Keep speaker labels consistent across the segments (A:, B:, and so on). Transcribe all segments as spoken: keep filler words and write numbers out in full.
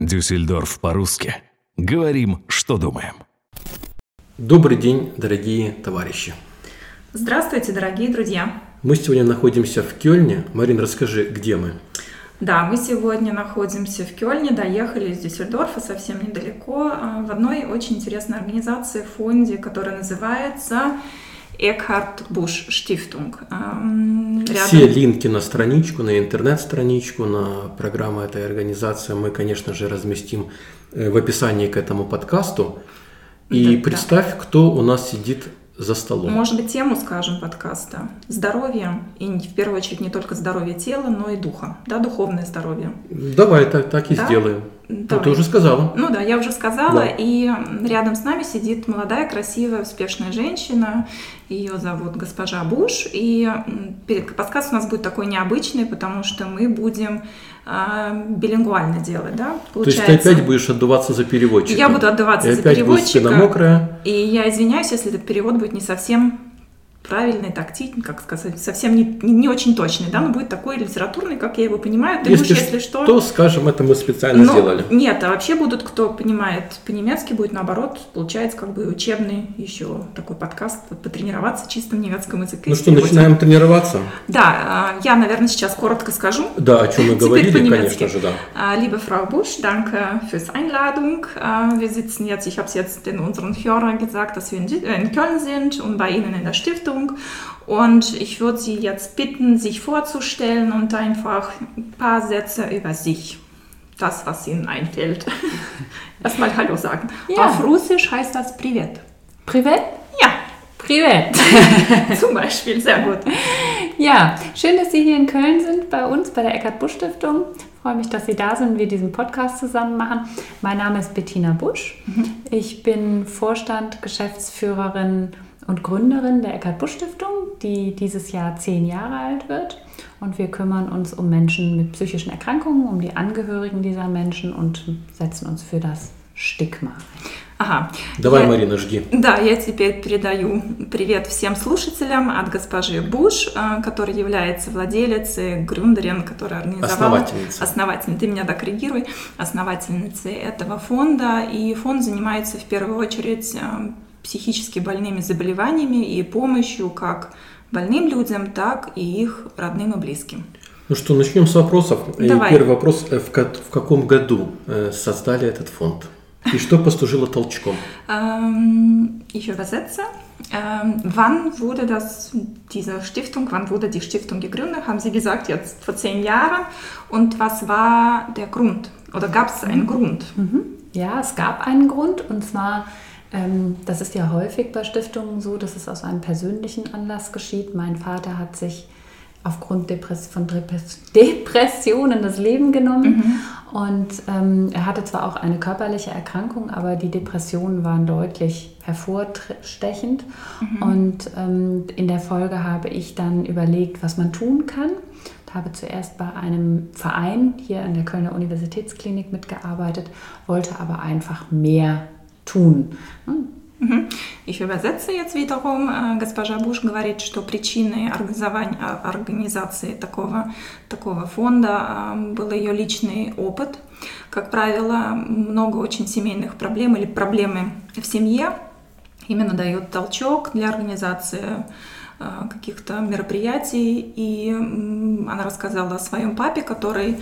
A: Дюссельдорф по-русски. Говорим, что думаем.
B: Добрый день, дорогие товарищи.
C: Здравствуйте, дорогие друзья.
B: Мы сегодня находимся в Кёльне. Марин, расскажи, где мы?
C: Да, мы сегодня находимся в Кёльне, доехали из Дюссельдорфа совсем недалеко, в одной очень интересной организации, фонде, которая называется Eckhard Busch Stiftung. Рядом...
B: Все линки на страничку, на интернет-страничку, на программу этой организации мы, конечно же, разместим в описании к этому подкасту. И да, представь, да. кто у нас сидит за столом.
C: Может быть, тему, скажем, подкаста. Здоровье, и в первую очередь не только здоровье тела, но и духа, да, духовное здоровье.
B: Давай так, так и да? сделаем. Ну, ты уже сказала.
C: Ну да, я уже сказала,
B: да.
C: И рядом с нами сидит молодая, красивая, успешная женщина. Ее зовут госпожа Буш. И подкаст у нас будет такой необычный, потому что мы будем э, билингвально делать, да?
B: Получается, то есть ты опять будешь отдуваться за переводчика?
C: Я буду отдуваться
B: и
C: за переводчика.
B: Опять будет мокрая.
C: И я извиняюсь, если этот перевод будет не совсем правильный, тактичный, как сказать, совсем не, не, не очень точный, да, но будет такой литературный, как я его понимаю. Ты
B: если,
C: будешь, если что...
B: то, скажем, это мы специально
C: но,
B: сделали.
C: Нет, а вообще будут, кто понимает по-немецки, будет наоборот, получается как бы учебный еще такой подкаст, потренироваться чисто в немецком языке.
B: Ну что, начинаем тренироваться?
C: Да, я, наверное, сейчас коротко скажу.
B: Да, о чем мы говорили, конечно же, да.
C: Liebe Frau Busch, danke fürs Einladung. Wir sitzen jetzt, ich habe es jetzt in unseren Hörern gesagt, dass wir in Köln sind und bei Ihnen in der Stiftung. Und ich würde Sie jetzt bitten, sich vorzustellen und einfach ein paar Sätze über sich, das, was Ihnen einfällt. Erstmal Hallo sagen. Ja. Auf Russisch heißt das Privet.
D: Privet?
C: Ja.
D: Privet.
C: Zum Beispiel, sehr gut.
D: Ja, schön, dass Sie hier in Köln sind, bei uns, bei der Eckhard Busch Stiftung. Ich freue mich, dass Sie da sind und wir diesen Podcast zusammen machen. Mein Name ist Bettina Busch. Mhm. Ich bin Vorstand, Geschäftsführerin und Gründerin der Eckhard Busch Stiftung, die dieses Jahr zehn Jahre alt wird. Und wir kümmern uns um Menschen mit psychischen Erkrankungen, um die Angehörigen dieser Menschen und setzen uns für das Stigma.
C: Ага.
B: Давай,
C: я,
B: Марина, жги.
C: Да, я теперь передаю привет всем слушателям от госпожи Буш, которая является владелицей, грюндерен, которая организовала...
B: Основательница.
C: Основательница. Ты меня докоррегируй. Основательницей этого фонда. И фонд занимается в первую очередь психически больными заболеваниями и помощью как больным людям, так и их родным и близким.
B: Ну что, начнем с вопросов.
C: Давай.
B: Первый вопрос. В каком году создали этот фонд? И что послужило толчком?
C: Ich übersetze. Wann wurde das, diese Stiftung, wann wurde die Stiftung gegründet? Haben Sie gesagt, jetzt vor zehn Jahren. Und was war der Grund? Oder gab es einen Grund?
D: Ja, es gab einen Grund. Und zwar, das ist ja häufig bei Stiftungen so, dass es aus einem persönlichen Anlass geschieht. Mein Vater hat sich aufgrund Depress- von Depressionen das Leben genommen. Mhm. Und ähm, er hatte zwar auch eine körperliche Erkrankung, aber die Depressionen waren deutlich hervorstechend. Mhm. Und ähm, in der Folge habe ich dann überlegt, was man tun kann. Ich habe zuerst bei einem Verein hier an der Kölner Universitätsklinik mitgearbeitet, wollte aber einfach mehr tun. Hm?
C: Ich übersetze jetzt wiederum. Госпожа Буш говорит, что причиной организации такого, такого фонда был ее личный опыт. Как правило, много очень семейных проблем или проблемы в семье именно дает толчок для организации каких-то мероприятий. И она рассказала о своем папе, который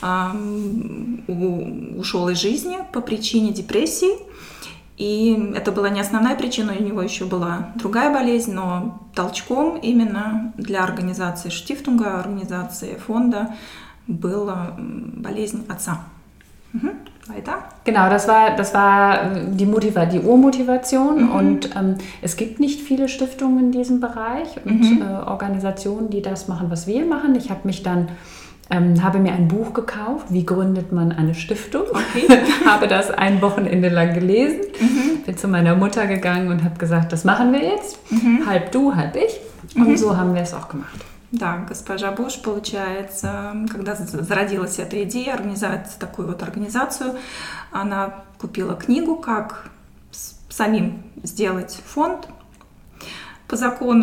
C: ушел из жизни по причине депрессии. И это была не основная причина, у него еще была другая болезнь, но толчком именно для организации Штифтунга, организации фонда была болезнь отца. Mhm. Weiter?
D: Genau, das war, das war die, Motiva- die Urmotivation. Mhm. Und ähm, es gibt nicht viele Stiftungen in diesem Bereich und mhm. äh, Organisationen, die das machen, was wir machen. Ich habe mich dann Ähm, habe mir ein Buch gekauft, wie gründet man eine Stiftung.
C: Okay.
D: Habe das ein Wochenende lang gelesen,
C: mhm.
D: bin zu meiner Mutter gegangen und habe gesagt, das machen wir jetzt,
C: mhm.
D: halb du, halb ich. Und
C: mhm.
D: so haben wir es auch gemacht.
C: Да, госпожа Буш, получается, когда зародилась эта идея организовать такую вот организацию, она купила книгу, как самим сделать фонд по закону,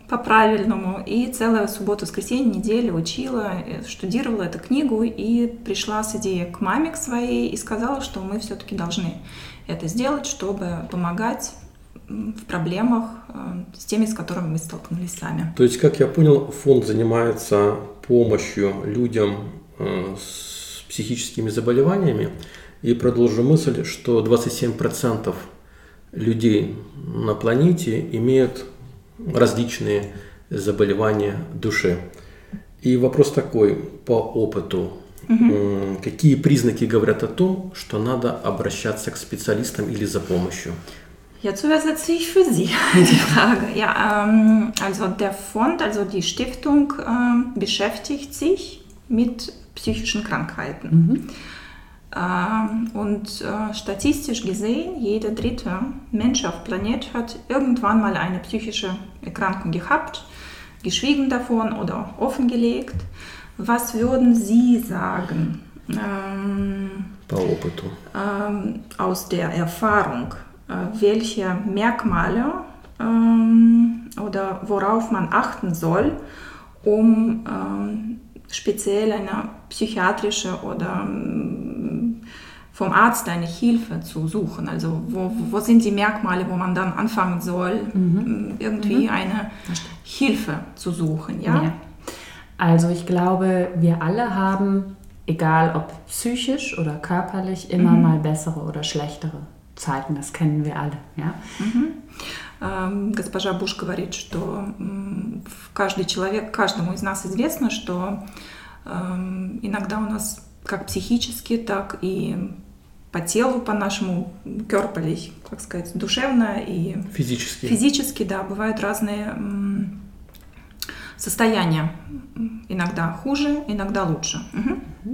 C: по-правильному. И целую субботу, воскресенье, неделю учила, штудировала эту книгу и пришла с идеей к маме к своей и сказала, что мы все-таки должны это сделать, чтобы помогать в проблемах с теми, с которыми мы столкнулись сами.
B: То есть, как я понял, фонд занимается помощью людям с психическими заболеваниями. И продолжу мысль, что двадцать семь процентов людей на планете имеют различные заболевания души. И вопрос такой, по опыту, угу. какие признаки говорят о том, что надо обращаться к специалистам или за помощью?
C: Jetzt übersetze ich für Sie die Frage. Ja, ähm, also der Fonds, also die Stiftung ähm, beschäftigt sich mit psychischen Krankheiten. Mhm. Ähm, und äh, statistisch gesehen, jeder dritte Mensch auf Planet hat irgendwann mal eine psychische Erkrankung gehabt, geschwiegen davon oder offengelegt. Was würden Sie sagen ähm, ähm, aus der Erfahrung? Welche Merkmale ähm, oder worauf man achten soll, um ähm, speziell eine psychiatrische oder ähm, vom Arzt eine Hilfe zu suchen. Also wo, wo sind die Merkmale, wo man dann anfangen soll, mhm. irgendwie mhm. eine Hilfe zu suchen. Ja?
D: Ja. Also ich glaube, wir alle haben, egal ob psychisch oder körperlich, immer mhm. mal bessere oder schlechtere Zeiten, das kennen wir alle. Ja?
C: Mm-hmm. Госпожа Буш говорит, что каждый человек, каждому из нас известно, что иногда у нас как психически, так и по телу, по нашему körperlich, как сказать, душевно и
B: физически,
C: физически, да, бывают разные состояния. Иногда хуже, иногда лучше. Mm-hmm.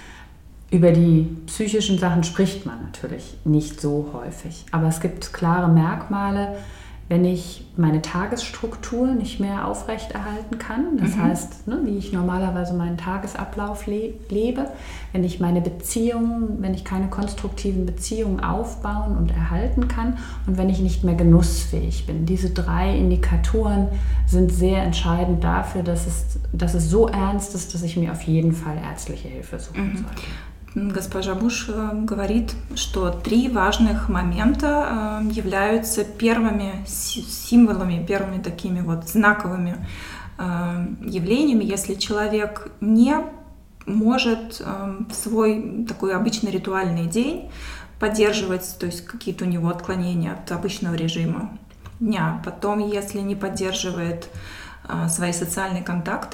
D: Über die psychischen Sachen spricht man natürlich nicht so häufig, aber es gibt klare Merkmale, wenn ich meine Tagesstruktur nicht mehr aufrechterhalten kann, das mhm. heißt, ne, wie ich normalerweise meinen Tagesablauf le- lebe, wenn ich meine Beziehungen, wenn ich keine konstruktiven Beziehungen aufbauen und erhalten kann und wenn ich nicht mehr genussfähig bin. Diese drei Indikatoren sind sehr entscheidend dafür, dass es, dass es so ernst ist, dass ich mir auf jeden Fall ärztliche Hilfe suchen
C: mhm.
D: sollte.
C: Госпожа Буш говорит, что три важных момента являются первыми символами, первыми такими вот знаковыми явлениями, если человек не может в свой такой обычный ритуальный день поддерживать, то есть какие-то у него отклонения от обычного режима дня. Потом, если не поддерживает свои социальные контакты,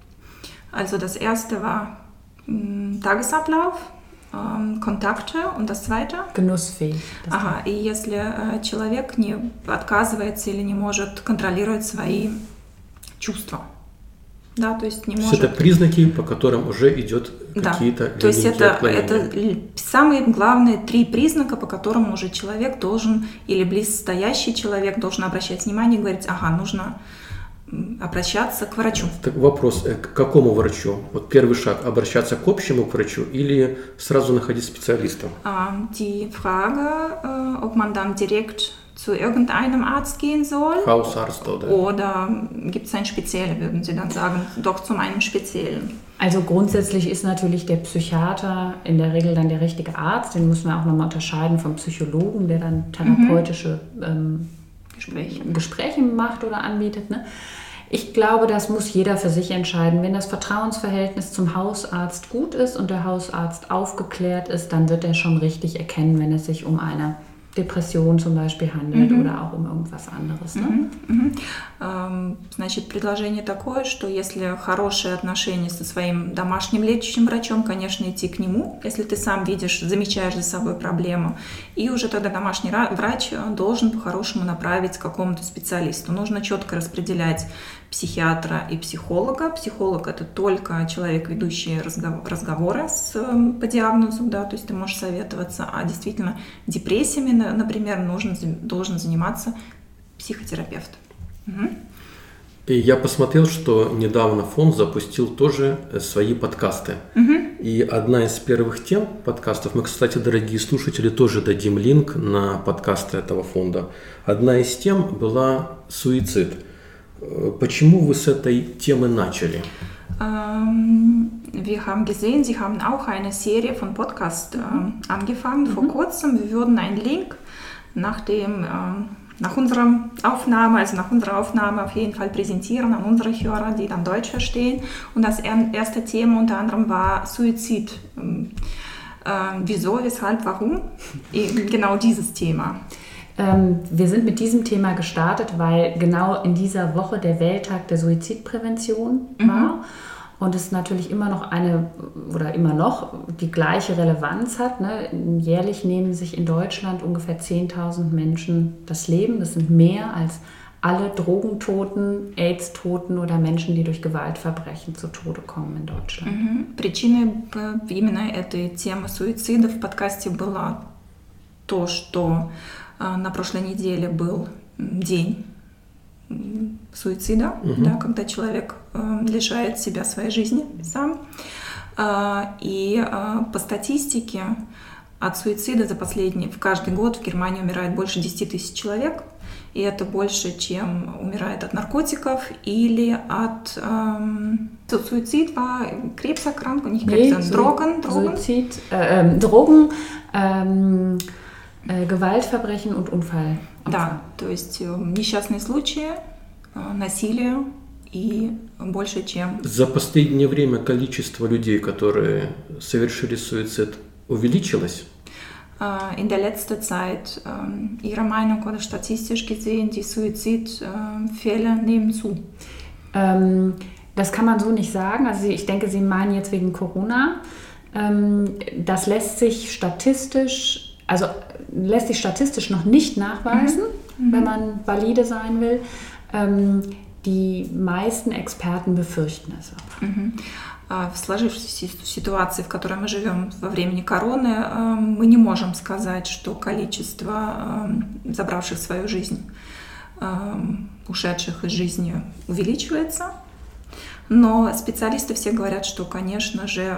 C: also das erste war Tagesablauf, ähm, Kontakte und das zweite?
D: Genussfähig.
C: Ага, и если äh, человек не отказывается или не может контролировать свои чувства. Да, то есть не
B: то
C: может...
B: это признаки, по которым уже идет
C: да.
B: какие-то
C: то есть это, это самые главные три признака, по которым уже человек должен, или близстоящий человек должен обращать внимание и говорить, ага, нужно обращаться к врачу.
B: Так вопрос, к какому врачу? Вот первый шаг, обращаться к общему к врачу или сразу находить специалиста?
C: Die Frage, ob man dann direkt zu irgendeinem Arzt gehen soll.
B: Hausarzt oder?
C: Oder gibt es einen speziellen, würden Sie dann sagen, doch zu einem speziellen?
D: Also grundsätzlich ist natürlich der Psychiater in der Regel dann der richtige Arzt. Den muss man auch nochmal unterscheiden vom Psychologen, der dann therapeutische mhm. ähm, Gespräche. Gespräche macht oder anbietet. Ne? Ich glaube, das muss jeder für sich entscheiden. Wenn das Vertrauensverhältnis zum Hausarzt gut ist und der Hausarzt aufgeklärt ist, dann wird er schon richtig erkennen, wenn es sich um eine Depression zum Beispiel handelt mm-hmm. oder auch um irgendwas anderes. Ne?
C: Mm-hmm. Mm-hmm. Ähm, значит, предложение такое, что если хорошие отношения со своим домашним лечащим врачом, конечно, идти к нему, если ты сам видишь, замечаешь за собой проблему, и уже тогда домашний врач должен по-хорошему направить к какому-то специалисту. Нужно четко распределять психиатра и психолога. Психолог – это только человек, ведущий разговоры с, по диагнозу, да, то есть ты можешь советоваться, а действительно депрессиями, например, нужно, должен заниматься психотерапевт. Угу.
B: И я посмотрел, что недавно фонд запустил тоже свои подкасты. Угу. И одна из первых тем подкастов, мы, кстати, дорогие слушатели, тоже дадим линк на подкасты этого фонда. Одна из тем была суицид. Почему вы с этой темы начали?
C: Wir haben gesehen, Sie haben auch eine Serie von Podcasts äh, angefangen vor kurzem. Wir würden einen Link nach, dem, äh, nach unserer Aufnahme, also nach unserer Aufnahme auf jeden Fall präsentieren an unsere Hörer, die dann Deutsch verstehen. Und das erste Thema unter anderem war Suizid. Äh, wieso, weshalb, warum? Eben genau dieses Thema.
D: Ähm, wir sind mit diesem Thema gestartet, weil genau in dieser Woche der Welttag der Suizidprävention war. Mhm. Und es natürlich immer noch eine, oder immer noch die gleiche Relevanz hat. Ne? Jährlich nehmen sich in Deutschland ungefähr zehntausend Menschen das Leben. Das sind mehr als alle Drogentoten, AIDS-Toten oder Menschen, die durch Gewaltverbrechen zu Tode kommen in Deutschland.
C: Mhm. Причиной именно этой темы суицида в подкасте была то, что на прошлой неделе был день суицида, угу. да, когда человек э, лишает себя своей жизни сам. Э, и э, по статистике от суицида за последний, в каждый год в Германии умирает больше десять тысяч человек. И это больше, чем умирает от наркотиков или от... Эм, суицид war Krebserkrankung, nicht Krebs, sondern Drogen. Drogen.
D: Suizid, äh, äh, Drogen, ähm, äh, Gewaltverbrechen und Unfall.
C: Да, то есть несчастные случаи, насилие и больше, чем...
B: За последнее время количество людей, которые совершили суицид, увеличилось?
C: In der letzten Zeit, Ihrer Meinung oder statistisch gesehen, die Suizidfälle nehmen zu?
D: Ähm, das kann man so nicht sagen. Also ich denke, Sie meinen jetzt wegen Corona. Ähm, das lässt sich statistisch... Also lässt sich statistisch noch nicht nachweisen, mhm. wenn man valide sein will. Ähm, die meisten Эксперты befürchten es aber.
C: Mhm. В сложившейся ситуации, в которой мы живем во времени короны, мы не можем сказать, что количество забравших свою жизнь, ушедших из жизни увеличивается. Но специалисты все говорят, что, конечно же,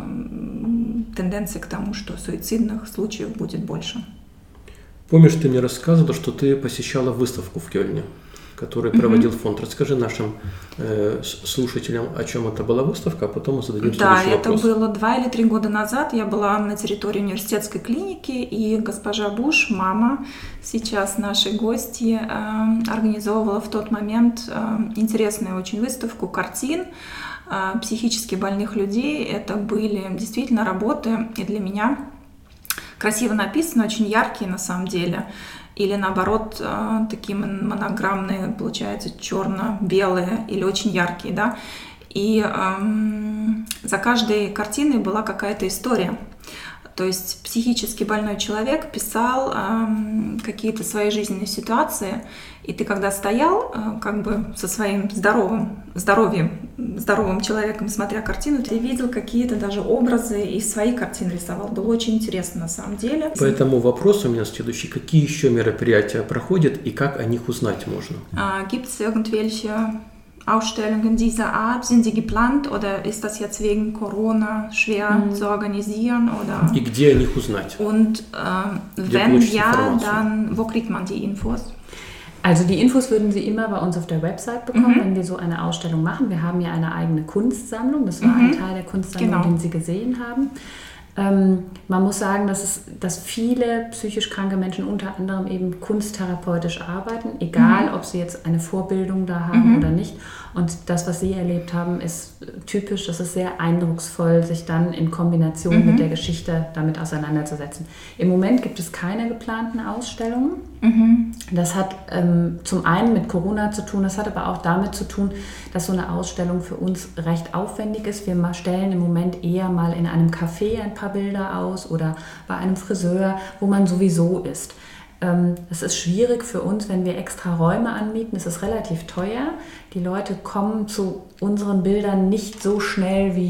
C: тенденция к тому, что суицидных случаев будет больше.
B: Помнишь, ты мне рассказывала, что ты посещала выставку в Кёльне, которую проводил mm-hmm. фонд. Расскажи нашим э, слушателям, о чем это была выставка, а потом мы зададим
C: да,
B: следующий вопрос.
C: Да, это было два или три года назад. Я была на территории университетской клиники, и госпожа Буш, мама, сейчас нашей гости, э, организовывала в тот момент э, интересную очень выставку картин э, психически больных людей. Это были действительно работы, и для меня красиво написаны, очень яркие на самом деле. Или наоборот, такие монограммные, получается, черно-белые или очень яркие, да. И эм, за каждой картиной была какая-то история. То есть психически больной человек писал эм, какие-то свои жизненные ситуации, и ты когда стоял э, как бы со своим здоровым здоровьем, здоровым человеком, смотря картину, ты видел какие-то даже образы и свои картины рисовал. Было очень интересно на самом деле.
B: Поэтому вопрос у меня следующий. Какие еще мероприятия проходят и как о них узнать можно?
C: Gibt es irgendwelche Ausstellungen dieser Art? Sind sie geplant oder ist das jetzt wegen Corona schwer mm. zu organisieren? Oder?
B: И где о них узнать?
C: Und äh, wenn ja, dann wo kriegt man die Infos?
D: Also die Infos würden Sie immer bei uns auf der Website bekommen, mhm. wenn wir so eine Ausstellung machen. Wir haben ja eine eigene Kunstsammlung. Das war mhm. ein Teil der Kunstsammlung, genau. den Sie gesehen haben. Ähm, man muss sagen, dass, es, dass viele psychisch kranke Menschen unter anderem eben kunsttherapeutisch arbeiten, egal mhm. ob sie jetzt eine Vorbildung da haben mhm. oder nicht. Und das, was Sie erlebt haben, ist typisch, das ist sehr eindrucksvoll, sich dann in Kombination mhm. mit der Geschichte damit auseinanderzusetzen. Im Moment gibt es keine geplanten Ausstellungen. Mhm. Das hat ähm, zum einen mit Corona zu tun, das hat aber auch damit zu tun, dass so eine Ausstellung für uns recht aufwendig ist. Wir stellen im Moment eher mal in einem Café ein paar Bilder aus oder bei einem Friseur, wo man sowieso ist. Es ist schwierig für uns, wenn wir extra Räume anmieten. Es ist relativ teuer. Die Leute kommen zu unseren Bildern nicht so schnell wie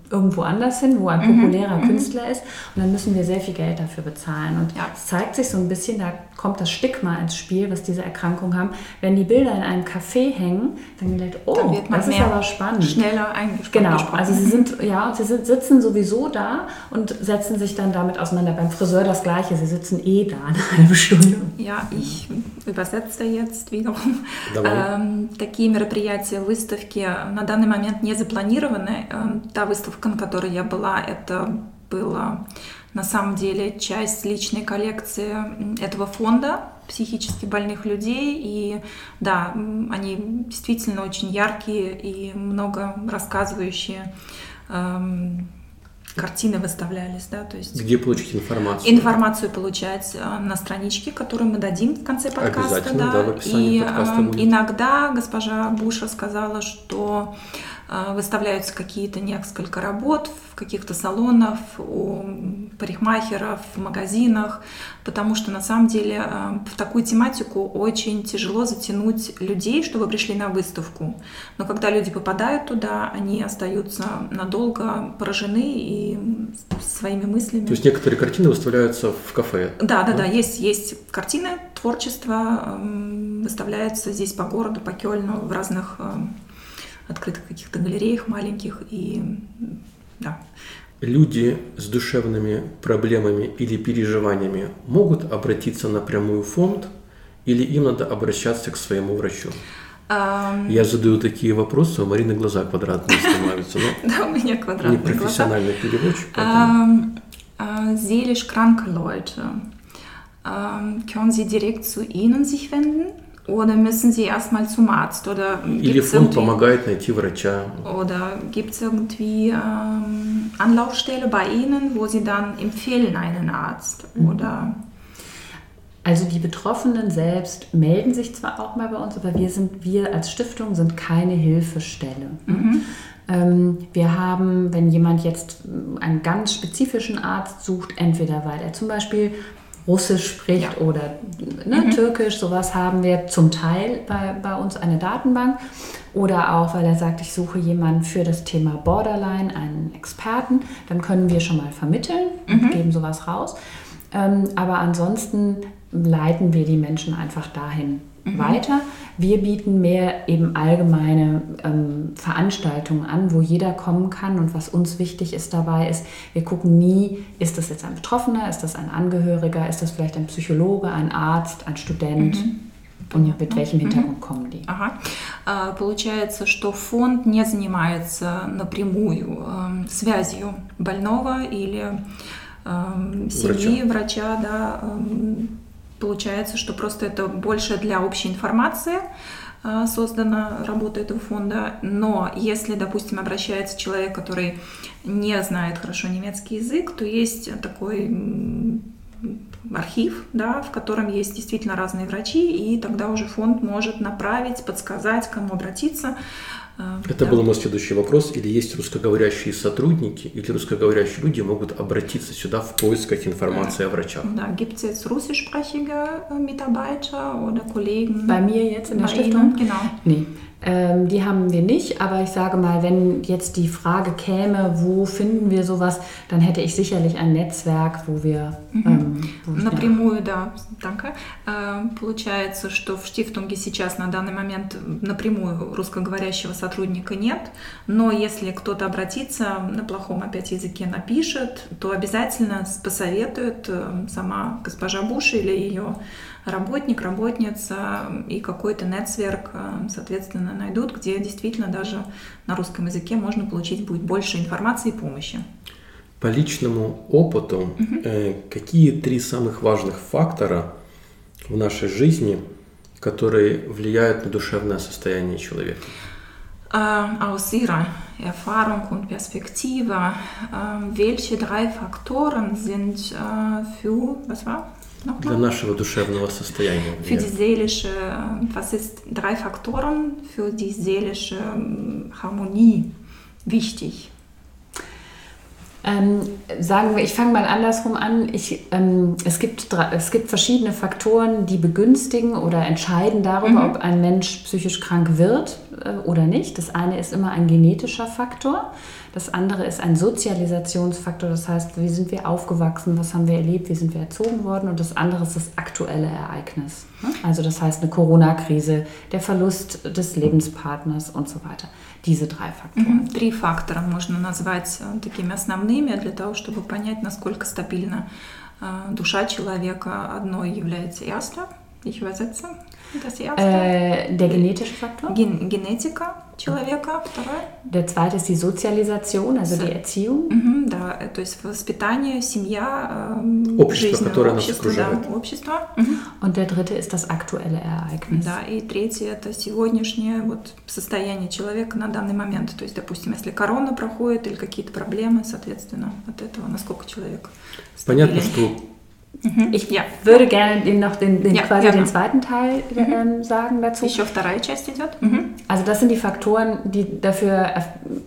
D: irgendwo anders hin, wo ein populärer mhm. Künstler ist und dann müssen wir sehr viel Geld dafür bezahlen. Und ja. es zeigt sich so ein bisschen, da kommt das Stigma ins Spiel, was diese Erkrankungen haben. Wenn die Bilder in einem Café hängen, dann wird oh, dann wird man das ist aber spannend.
C: Schneller eingesprochen.
D: Genau, also sie sind, ja, sie sitzen sowieso da und setzen sich dann damit auseinander. Beim Friseur das Gleiche, sie sitzen eh da eine halbe Stunde.
C: Ja, ich übersetze jetzt wiederum. Ähm, такие мероприятия, выставки на данный момент не запланированы. Та выставка, на которой я была, это была на самом деле часть личной коллекции этого фонда психически больных людей. И да, они действительно очень яркие и много рассказывающие. Эм, картины выставлялись, да, то есть...
B: Где получить информацию?
C: Информацию получать на страничке, которую мы дадим в конце подкаста.
B: Обязательно, да, да в описании
C: и
B: подкаста будет.
C: Иногда госпожа Буш рассказала, что выставляются какие-то несколько работ в каких-то салонах, у парикмахеров, в магазинах, потому что на самом деле в такую тематику очень тяжело затянуть людей, чтобы пришли на выставку. Но когда люди попадают туда, они остаются надолго поражены и своими мыслями.
B: То есть некоторые картины выставляются в кафе?
C: Да, да, да, да. Есть, есть картины, творчество выставляется здесь по городу, по Кёльну, в разных открытых каких-то галереях маленьких, и да.
B: Люди с душевными проблемами или переживаниями могут обратиться напрямую в фонд, или им надо обращаться к своему врачу? Um, Я задаю такие вопросы, у Марины глаза квадратные становятся.
C: Да, у меня квадратные глаза.
B: Непрофессиональный переводчик.
C: Seelisch kranke Leute, können Sie direkt zu Ihnen sich wenden? Oder müssen Sie erstmal zum Arzt? Oder
B: Или фонд помогает найти врача?
C: Oder gibt es irgendwie ähm, Anlaufstelle bei Ihnen, wo Sie dann empfehlen einen Arzt? Oder
D: also die Betroffenen selbst melden sich zwar auch mal bei uns, aber wir sind, wir als Stiftung sind keine Hilfestelle. Mhm. Ähm, wir haben, wenn jemand jetzt einen ganz spezifischen Arzt sucht, entweder weil er zum Beispiel Russisch spricht ja. oder ne, mhm. Türkisch, sowas haben wir zum Teil bei, bei uns eine Datenbank. Oder auch, weil er sagt, ich suche jemanden für das Thema Borderline, einen Experten, dann können wir schon mal vermitteln und mhm. geben sowas raus. Ähm, aber ansonsten leiten wir die Menschen einfach dahin mhm. weiter. Wir bieten mehr eben allgemeine ähm, Veranstaltungen an, wo jeder kommen kann. Und was uns wichtig ist dabei ist, wir gucken nie, ist das jetzt ein Betroffener, ist das ein Angehöriger, ist das vielleicht ein Psychologe, ein Arzt, ein Student mhm. und mit welchem Hintergrund kommen die.
C: Ага. Получается, что фонд не занимается напрямую э, связью больного или э, семьи, врача, врача да, э, Получается, что просто это больше для общей информации э, создана работа этого фонда. Но если, допустим, обращается человек, который не знает хорошо немецкий язык, то есть такой м, архив, да, в котором есть действительно разные врачи, и тогда уже фонд может направить, подсказать, к кому обратиться.
B: Это да. был мой следующий вопрос. Или есть русскоговорящие сотрудники, или русскоговорящие люди могут обратиться сюда в поисках информации о врачах?
C: Да, gibt es jetzt russischsprachige Mitarbeiter oder Kollegen?
D: Bei mir jetzt in der Stiftung? Genau. Nee. Ähm, die haben wir nicht, aber ich sage mal, wenn jetzt die Frage käme, wo finden wir sowas, dann hätte ich sicherlich ein Netzwerk, wo wir... Ähm, wo
C: напрямую, да, danke. Получается, что в Штифтунге сейчас на данный момент напрямую русскоговорящего сотрудника нет, но если кто-то обратится, на плохом опять языке напишет, то обязательно посоветует сама госпожа Буш или ее работник, работница и какой-то нетсверк, соответственно, найдут, где действительно даже на русском языке можно получить будет больше информации и помощи.
B: По личному опыту, угу. э, какие три самых важных фактора в нашей жизни, которые влияют на душевное состояние человека?
C: Äh, aus Ihrer Erfahrung und Perspektive, äh, welche drei Faktoren sind äh, für, was war?
B: Для нашего душевного состояния.
C: Für die seelische, was ist drei Faktoren für die seelische Harmonie wichtig?
D: Ähm, sagen wir, ich fange mal andersrum an. Ich, ähm, es, gibt, es gibt verschiedene Faktoren, die begünstigen oder entscheiden darüber, mhm. ob ein Mensch psychisch krank wird. oder nicht. Das eine ist immer ein genetischer Faktor, das andere ist ein Sozialisationsfaktor, das heißt, wie sind wir aufgewachsen, was haben wir erlebt, wie sind wir erzogen worden, und das andere ist das aktuelle Ereignis. Also das heißt eine Corona-Krise, der Verlust des Lebenspartners und so weiter. Diese drei Faktoren.
C: Три фактора можно назвать такими основными для того, чтобы понять, насколько стабильна душа человека. Одно является erste, ich übersetze das erste.
D: Äh, der genetische Faktor.
C: Gen Genetika человека, второе.
D: Der zweite ist die Sozialisation, also die Erziehung.
C: Mhm, да, то есть воспитание, семья,
B: общество, которое нас
C: общество,
B: окружает.
C: Да, общество. Mhm.
D: Und der dritte ist das aktuelle Ereignis.
C: Да, и третье это сегодняшнее вот состояние человека на данный момент. То есть, допустим, если корона проходит или какие-то проблемы, соответственно, от этого насколько человек
B: Понятно, что
D: Ich
C: ja.
D: würde gerne den noch den, den
C: Ja,
D: quasi
C: gerne.
D: den zweiten Teil ähm, sagen dazu.
C: Еще вторая часть идет. Mhm.
D: Also das sind die Faktoren, die dafür äh,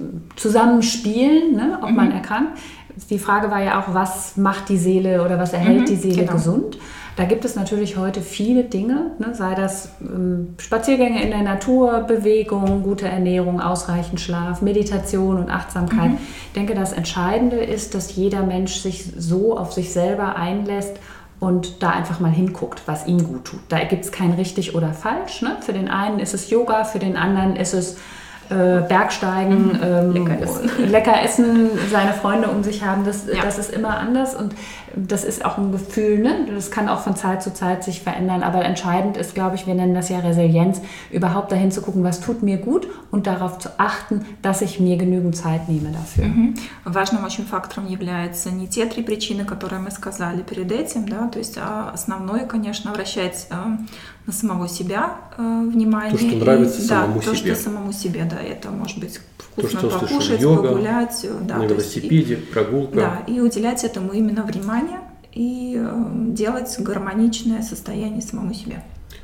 D: zusammenspielen, ne, ob
C: Mhm.
D: man erkrankt. Die Frage war ja auch, was macht die Seele oder was erhält
C: Mhm,
D: die Seele
C: genau.
D: gesund? Da gibt es natürlich heute viele Dinge, ne, sei das ähm, Spaziergänge in der Natur, Bewegung, gute Ernährung, ausreichend Schlaf, Meditation und Achtsamkeit.
C: Mhm.
D: Ich denke, das Entscheidende ist, dass jeder Mensch sich so auf sich selber einlässt und da einfach mal hinguckt, was ihm gut tut. Da gibt es kein richtig oder falsch. Ne? Für den einen ist es Yoga, für den anderen ist es äh, Bergsteigen,
C: Mhm.
D: ähm,
C: Lecker essen.
D: lecker essen, seine Freunde um sich haben. Das,
C: Ja.
D: das ist immer anders und das ist auch ein Gefühl. Ne? Das kann auch von Zeit zu Zeit sich verändern. Aber entscheidend ist, glaube ich, wir nennen das ja Resilienz, überhaupt dahin zu gucken, was tut mir gut und darauf zu achten, dass ich mir genügend Zeit nehme dafür.
C: Мгм. Важным очень фактором является не те три причины, которые мы сказали перед этим, да, то есть а основное, конечно, обращать а, на самого себя а, внимание.
B: То, что
C: И-
B: нравится
C: да,
B: самому
C: то,
B: себе.
C: что самому себе, да, это может быть вкусно
B: что услышал,
C: покушать,
B: йога,
C: погулять, да,
B: на
C: то есть и-
B: велосипеде, прогулка.
C: да, и уделять этому именно внимание и э, делать гармоничное состояние самому себе.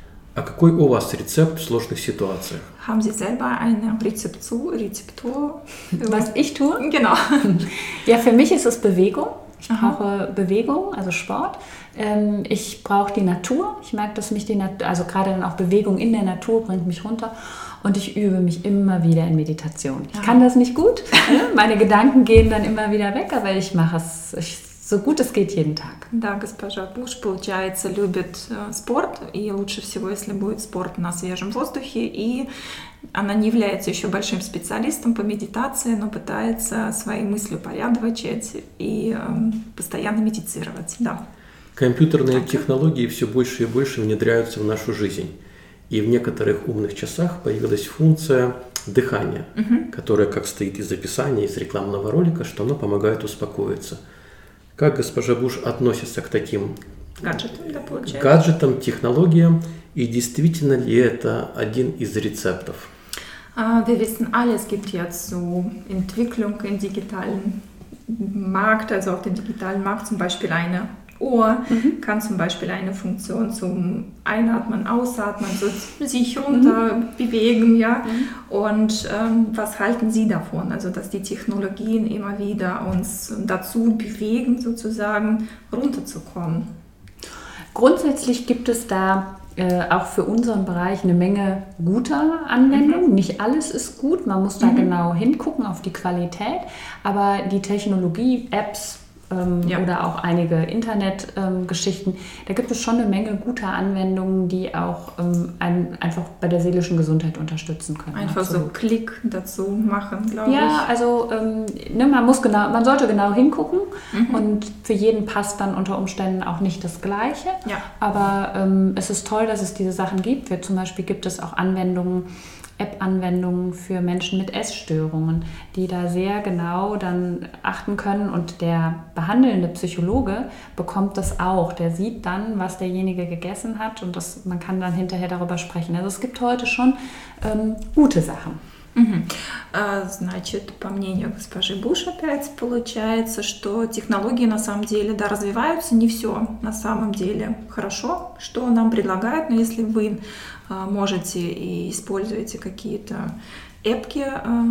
B: А какой у вас рецепт в сложных ситуациях?
C: Haben Sie selber eine Rezeptur? Rezeptur?
D: Was ich tue?
C: Genau.
D: Ja, für mich ist es Bewegung. Ich
C: Aha.
D: brauche Bewegung, also Sport. Ähm, ich brauche die Natur. Ich merke, dass mich die Natur, also gerade dann auch Bewegung in der Natur bringt mich runter. Und ich übe mich immer wieder in Meditation. Ich
C: Aha.
D: kann das nicht gut. Ne? Meine Gedanken gehen dann immer wieder weg, aber ich mache es ich, so gut es geht jeden Tag.
C: Да, госпожа Буш, получается, любит э, спорт, и лучше всего, если будет спорт на свежем воздухе, и она не является еще большим специалистом по медитации, но пытается свои мысли упорядочить и э, постоянно медитировать, да.
B: Компьютерные технологии все больше и больше внедряются в нашу жизнь. И в некоторых умных часах появилась функция дыхания,
C: Мгм.
B: которая как стоит из описания, из рекламного ролика, что оно помогает успокоиться. Как госпожа Буш относится к таким
C: Гаджеты, да, получается.
B: гаджетам, технологиям, и действительно ли это один из рецептов?
C: Ah, wir wissen alle, es gibt jetzt so Entwicklung im digitalen Markt, also auf dem digitalen Markt zum Beispiel eine Uhr,
D: Mhm.
C: kann zum Beispiel eine Funktion zum Einatmen, Ausatmen, so sich runter
D: Mhm.
C: bewegen, ja. Und ähm, was halten Sie davon? Also, dass die Technologien immer wieder uns dazu bewegen, sozusagen runterzukommen.
D: Grundsätzlich gibt es da äh, auch für unseren Bereich eine Menge guter Anwendungen. Nicht alles ist gut, man muss da
C: Mhm.
D: genau hingucken auf die Qualität, aber die Technologie, Apps ähm,
C: Ja.
D: oder auch einige Internetgeschichten, ähm, da gibt es schon eine Menge guter Anwendungen, die auch ähm, einen einfach bei der seelischen Gesundheit unterstützen können.
C: Einfach so
D: Absolut.
C: Klick dazu machen, glaube
D: Ja, also ähm, ne, man muss genau, man sollte genau hingucken
C: Mhm.
D: und für jeden passt dann unter Umständen auch nicht das Gleiche.
C: Ja.
D: Aber ähm, es ist toll, dass es diese Sachen gibt. Wir, zum Beispiel gibt es auch Anwendungen, App-Anwendungen für Menschen mit Essstörungen, die da sehr genau dann achten können und der behandelnde Psychologe bekommt das auch. Der sieht dann, was derjenige gegessen hat und das, man kann dann hinterher darüber sprechen. Also es gibt heute schon ähm, gute Sachen.
C: Мгм. А, Значит, по мнению госпожи Буш опять получается, что технологии на самом деле, да, развиваются, не все на самом деле хорошо, что нам предлагают, но если вы а, можете и используете какие-то эпки,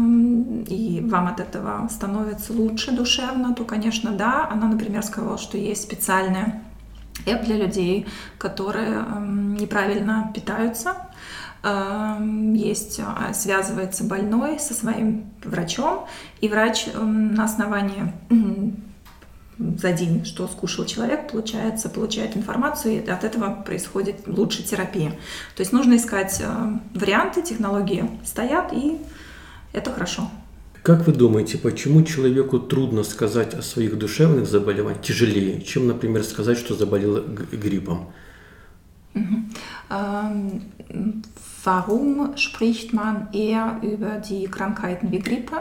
C: эм, и вам от этого становится лучше душевно, то, конечно, да. Она, например, сказала, что есть специальная эп для людей, которые эм, неправильно питаются. есть, связывается больной со своим врачом, и врач на основании за день, что скушал человек, получается, получает информацию, и от этого происходит лучше терапия. То есть нужно искать варианты, технологии стоят, и это хорошо.
B: Как вы думаете, почему человеку трудно сказать о своих душевных заболеваниях, тяжелее, чем, например, сказать, что заболел гриппом?
C: Mhm. Ähm, warum spricht man eher über die Krankheiten wie Grippe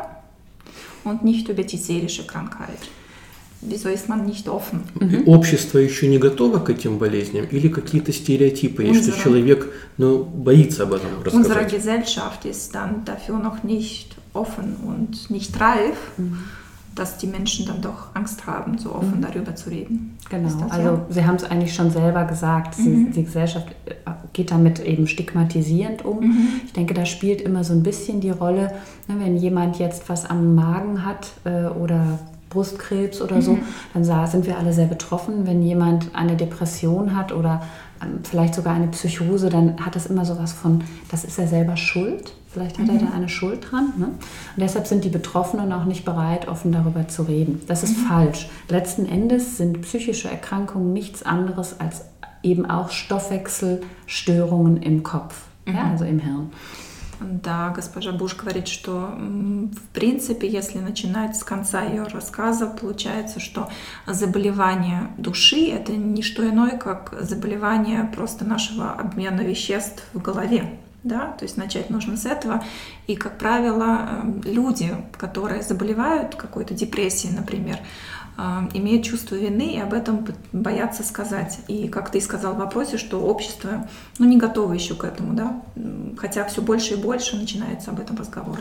C: und nicht über die seelische Krankheit? Wieso ist man nicht offen?
B: Mhm. Общество еще не готово к этим болезням или какие-то стереотипы, и что человек ну, боится об этом рассказать?
C: Unsere Gesellschaft ist dann dafür noch nicht offen und nicht reif, mhm. dass die Menschen dann doch Angst haben, so offen mhm. darüber zu reden.
D: Genau, also ja? Sie haben es eigentlich schon selber gesagt, Sie, mhm. die Gesellschaft geht damit eben stigmatisierend um. Mhm. Ich denke, da spielt immer so ein bisschen die Rolle, wenn jemand jetzt was am Magen hat äh, oder Brustkrebs oder so, mhm. dann sind wir alle sehr betroffen. Wenn jemand eine Depression hat oder vielleicht sogar eine Psychose, dann hat es immer sowas von, das ist er selber schuld. Vielleicht hat mhm. er da eine Schuld dran. Ne? Und deshalb sind die Betroffenen auch nicht bereit, offen darüber zu reden. Das ist mhm. falsch. Letzten Endes sind psychische Erkrankungen nichts anderes als eben auch Stoffwechselstörungen im Kopf, mhm. ja, also im Hirn.
C: Да, госпожа Буш говорит, что в принципе, если начинать с конца ее рассказа, получается, что заболевание души – это не что иное, как заболевание просто нашего обмена веществ в голове. Да? То есть начать нужно с этого. И, как правило, люди, которые заболевают какой-то депрессией, например, имеют чувство вины и об этом боятся сказать. И как ты и сказал в вопросе, что общество ну, не готово еще к этому, да? Хотя все больше и больше начинается об этом разговор.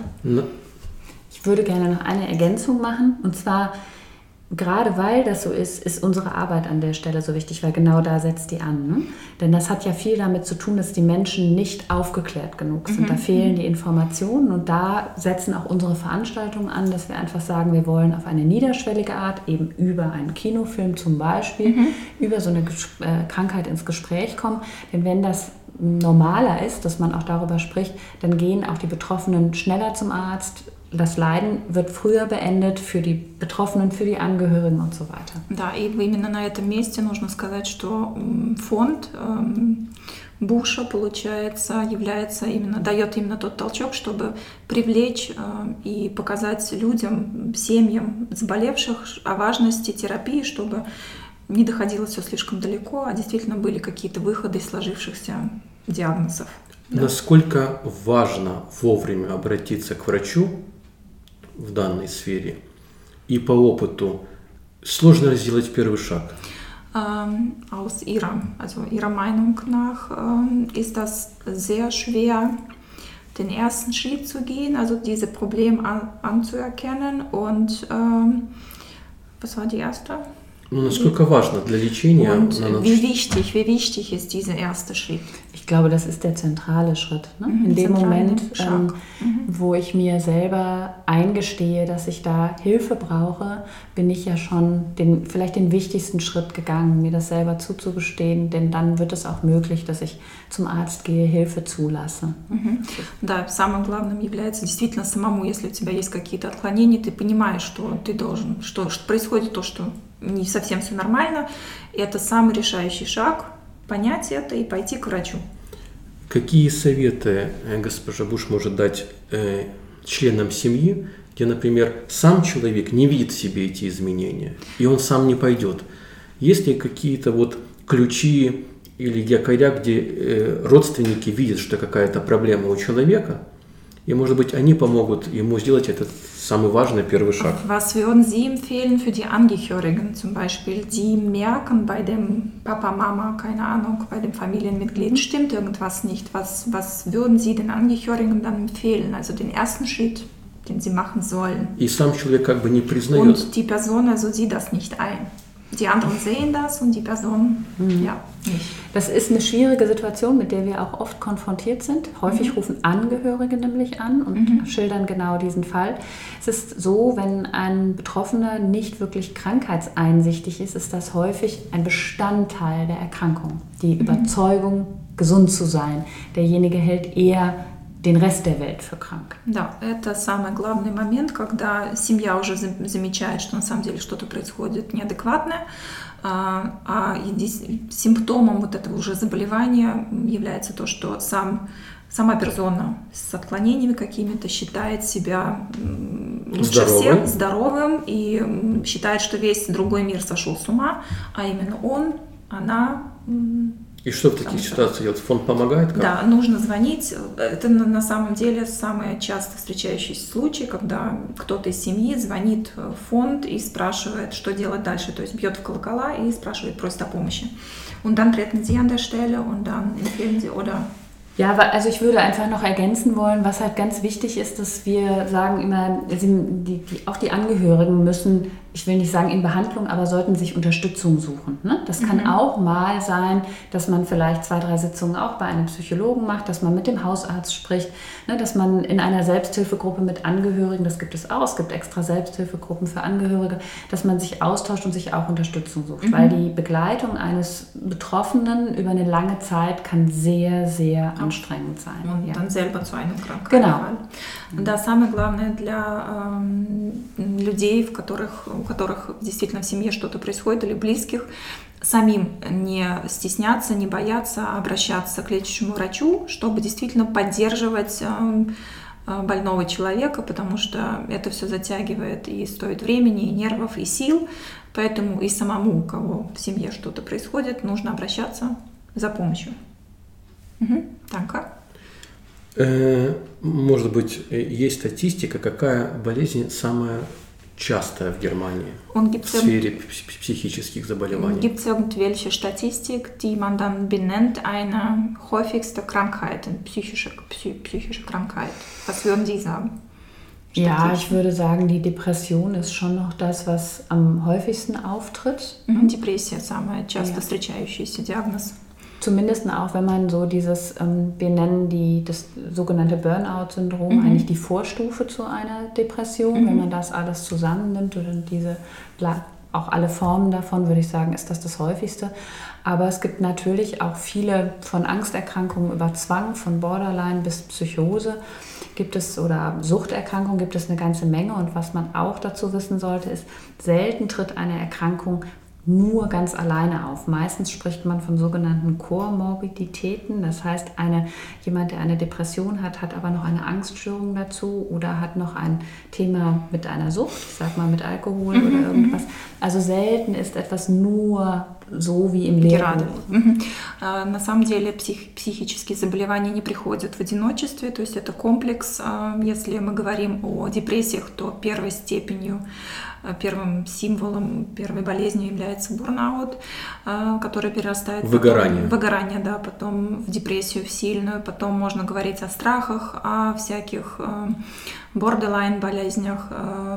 D: Ich würde gerne noch eine Ergänzung machen, und zwar gerade weil das so ist, ist unsere Arbeit an der Stelle so wichtig, weil genau da setzt die an. Ne? Denn das hat ja viel damit zu tun, dass die Menschen nicht aufgeklärt genug sind. Mhm. Da fehlen die Informationen, und da setzen auch unsere Veranstaltungen an, dass wir einfach sagen, wir wollen auf eine niederschwellige Art, eben über einen Kinofilm zum Beispiel, mhm. über so eine äh, Krankheit ins Gespräch kommen. Denn wenn das normaler ist, dass man auch darüber spricht, dann gehen auch die Betroffenen schneller zum Arzt. Das Leiden wird früher beendet für die Betroffenen, für die Angehörigen und so weiter.
C: Да, и именно на этом месте нужно сказать, что фонд Буша, получается, является именно, дает именно тот толчок, чтобы привлечь и показать людям, семьям заболевших о важности терапии, чтобы не доходило все слишком далеко, а действительно были какие-то выходы из сложившихся диагнозов.
B: Да. Насколько важно вовремя обратиться к врачу в данной сфере, и по опыту сложно сделать первый шаг?
C: Ähm, aus ihrer, also ihrer Meinung nach ähm, ist das sehr schwer, den ersten Schritt zu gehen, also diese Probleme an, anzuerkennen. Und ähm, was war die erste?
B: Ну, насколько важно для лечения?
C: Und wie wichtig, wie wichtig ist dieser erste Schritt?
D: Ich glaube, das ist der zentrale Schritt. Ne? Mhm, in dem Moment, ähm, mhm. wo ich mir selber eingestehe, dass ich da Hilfe brauche, bin ich ja schon den, vielleicht den wichtigsten Schritt gegangen, mir das selber zuzugestehen, denn dann wird es auch möglich, dass ich zum Arzt gehe, Hilfe zulasse.
C: Mhm. Да, самым главным является действительно самому, если у тебя есть какие-то отклонения, ты понимаешь, что ты должен, что, что происходит то, что не совсем все нормально, и это самый решающий шаг – понять это и пойти к врачу.
B: Какие советы госпожа Буш может дать э, членам семьи, где, например, сам человек не видит в себе эти изменения, и он сам не пойдет? Есть ли какие-то вот ключи или якоря, где э, родственники видят, что какая-то проблема у человека, и, может быть, они помогут ему сделать этот самый важный первый шаг?
C: Was würden Sie empfehlen für die Angehörigen zum Beispiel, die merken bei dem Papa, Mama, keine Ahnung, bei dem Familienmitglied stimmt irgendwas nicht? Was, was würden Sie den Angehörigen dann empfehlen? Also den ersten Schritt, den sie machen sollen.
B: И сам человек как бы не признает.
C: Und die Person also sieht das nicht ein. Die anderen sehen das und die Person, mhm. ja, nicht.
D: Das ist eine schwierige Situation, mit der wir auch oft konfrontiert sind. Häufig mhm. rufen Angehörige nämlich an und mhm. schildern genau diesen Fall. Es ist so, wenn ein Betroffener nicht wirklich krankheitseinsichtig ist, ist das häufig ein Bestandteil der Erkrankung. Die mhm. Überzeugung, gesund zu sein. Derjenige hält eher den Rest der Welt für krank.
C: Да, это самый главный момент, когда семья уже замечает, что на самом деле что-то происходит неадекватное, а, а симптомом вот этого уже заболевания является то, что сам, сама персона с отклонениями какими-то считает себя лучше
B: здоровым.
C: всех здоровым и считает, что весь другой мир сошел с ума, а именно он, она...
B: И что в таких ситуациях делать? Фонд помогает? Как?
C: Да, нужно звонить. Это на самом деле самый часто встречающийся случай, когда кто-то из семьи звонит в фонд и спрашивает, что делать дальше. То есть бьет в колокола и спрашивает, просит о помощи. Und dann treten Sie an der Stelle und dann empfehlen Sie oder...
D: Ja, also ich würde einfach noch ergänzen wollen, was halt ganz wichtig ist, dass wir sagen immer, die, die, auch die Angehörigen müssen, ich will nicht sagen in Behandlung, aber sollten sich Unterstützung suchen. Ne? Das kann mhm. auch mal sein, dass man vielleicht zwei, drei Sitzungen auch bei einem Psychologen macht, dass man mit dem Hausarzt spricht, ne? Dass man in einer Selbsthilfegruppe mit Angehörigen, das gibt es auch, es gibt extra Selbsthilfegruppen für Angehörige, dass man sich austauscht und sich auch Unterstützung sucht, mhm. weil die Begleitung eines Betroffenen über eine lange Zeit kann sehr, sehr anstrengend sein.
C: Und
D: ja.
C: dann selber zu einem Krankheit.
D: Genau.
C: Да, самое главное для э, людей, в которых, у которых действительно в семье что-то происходит, или близких, самим не стесняться, не бояться обращаться к лечащему врачу, чтобы действительно поддерживать э, больного человека, потому что это все затягивает и стоит времени, и нервов, и сил. Поэтому и самому, у кого в семье что-то происходит, нужно обращаться за помощью. Угу. Танка?
B: Может быть, есть статистика, какая болезнь самая частая в Германии в сфере psychischen заболеваний?
C: Gibt es irgendwelche Statistik, die man dann benennt, eine häufigste Krankheit, eine psychische, psychische Krankheit? Was würden Sie sagen?
D: Ja, ich würde sagen, die Depression ist schon noch das, was am häufigsten auftritt.
C: Mhm. Депрессия самая часто встречающийся диагноз.
D: Zumindest auch, wenn man so dieses, ähm, wir nennen die, das sogenannte Burnout-Syndrom, mhm. eigentlich die Vorstufe zu einer Depression. Mhm. Wenn man das alles zusammennimmt oder diese, auch alle Formen davon, würde ich sagen, ist das das häufigste. Aber es gibt natürlich auch viele von Angsterkrankungen über Zwang, von Borderline bis Psychose gibt es oder Suchterkrankungen gibt es eine ganze Menge. Und was man auch dazu wissen sollte, ist, selten tritt eine Erkrankung nur ganz alleine auf. Meistens spricht man von sogenannten Komorbiditäten, das heißt, eine, jemand, der eine Depression hat, hat aber noch eine Angststörung dazu oder hat noch ein Thema mit einer Sucht, ich sag mal mit Alkohol mhm, oder irgendwas. Also selten ist etwas nur so wie im Lehrbuch.
C: Угу. На самом деле псих, психические заболевания не приходят в одиночестве, то есть это комплекс. Если мы говорим о депрессиях, то первой степенью, первым символом первой болезни является бурнаут, который перерастает в выгорание. Потом, выгорание, да, потом в депрессию, в сильную, потом можно говорить о страхах, о всяких бордерлайн болезнях,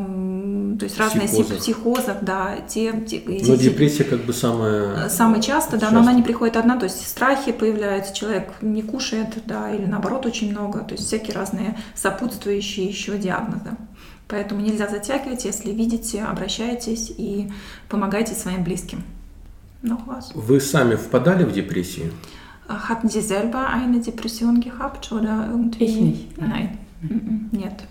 C: то есть разные психозах, да, те, те,
B: но депрессия как бы самая
C: самое часто, да, но она не приходит одна, то есть страхи появляются, человек не кушает, да, или наоборот очень много, то есть всякие разные сопутствующие еще диагнозы. Поэтому нельзя затягивать, если видите, обращайтесь и помогайте своим близким. No,
B: Вы сами впадали в депрессию?
C: Hatten Sie selber eine Depression gehabt oder irgendwie?
D: Ich nicht.
C: Nein. Nein. Нет.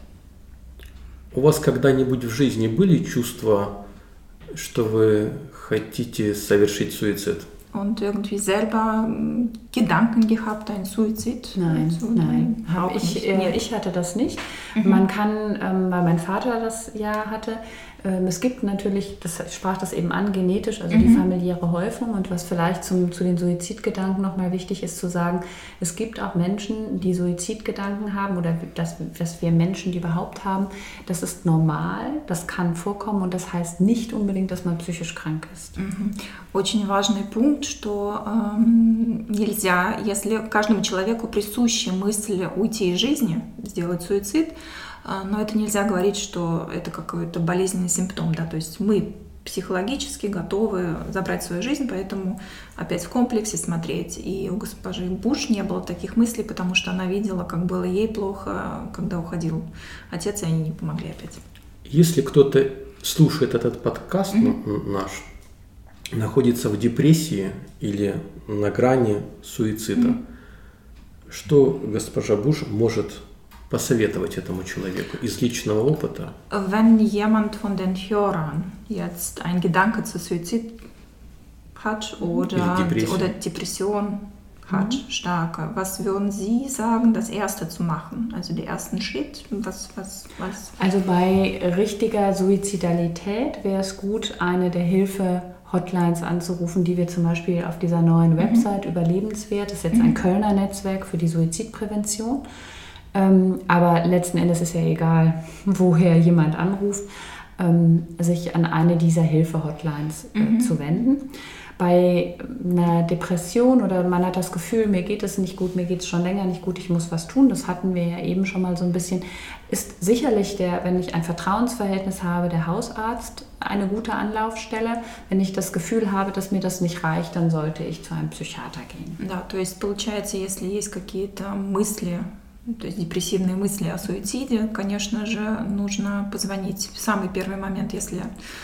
B: У вас когда-нибудь в жизни были чувства, что вы хотите совершить суицид?
C: Und irgendwie selber Gedanken gehabt, ein Suizid?
D: Nein, so, nein. Hab ich, äh, ich hatte das nicht. Mhm. Man kann, ähm, weil mein Vater das ja hatte, ähm, es gibt natürlich, das sprach das eben an, genetisch, also mhm. die familiäre Häufung. Und was vielleicht zum, zu den Suizidgedanken nochmal wichtig ist zu sagen, es gibt auch Menschen, die Suizidgedanken haben oder dass, dass wir Menschen die überhaupt haben. Das ist normal, das kann vorkommen und das heißt nicht unbedingt, dass man psychisch krank ist.
C: Mhm. Очень важный пункт, что э, нельзя, если каждому человеку присуща мысль уйти из жизни, сделать суицид, э, но это нельзя говорить, что это какой-то болезненный симптом, да, то есть мы психологически готовы забрать свою жизнь, поэтому опять в комплексе смотреть. И у госпожи Буш не было таких мыслей, потому что она видела, как было ей плохо, когда уходил отец, и они не помогли опять.
B: Если кто-то слушает этот подкаст mm-hmm. наш, находится в депрессии или на грани суицида, mm-hmm. Что госпожа Буш может посоветовать этому человеку из личного опыта?
C: Wenn jemand von den Hörern jetzt einen Gedanke zu Suizid hat oder
B: Depression.
C: oder Depression hat, mhm. starke, was würden Sie sagen, das Erste zu machen? Also den ersten Schritt? Was, was, was?
D: Also bei richtiger Suizidalität wäre es gut, eine der Hilfe-Hotlines anzurufen, die wir zum Beispiel auf dieser neuen Website mhm. Überlebenswert, das ist jetzt mhm. ein Kölner Netzwerk für die Suizidprävention. Ähm, aber letzten Endes ist ja egal, woher jemand anruft, ähm, sich an eine dieser Hilfe-Hotlines äh, mhm. zu wenden. Bei einer Depression oder man hat das Gefühl, mir geht es nicht gut, mir geht es schon länger nicht gut, ich muss was tun, das hatten wir ja eben schon mal so ein bisschen, ist sicherlich der, wenn ich ein Vertrauensverhältnis habe, der Hausarzt eine gute Anlaufstelle. Wenn ich das Gefühl habe, dass mir das nicht reicht, dann sollte ich zu einem Psychiater gehen.
C: Да, то есть получается, если есть какие-то мысли, то есть депрессивные мысли о суициде, конечно же, нужно позвонить в самый первый момент, если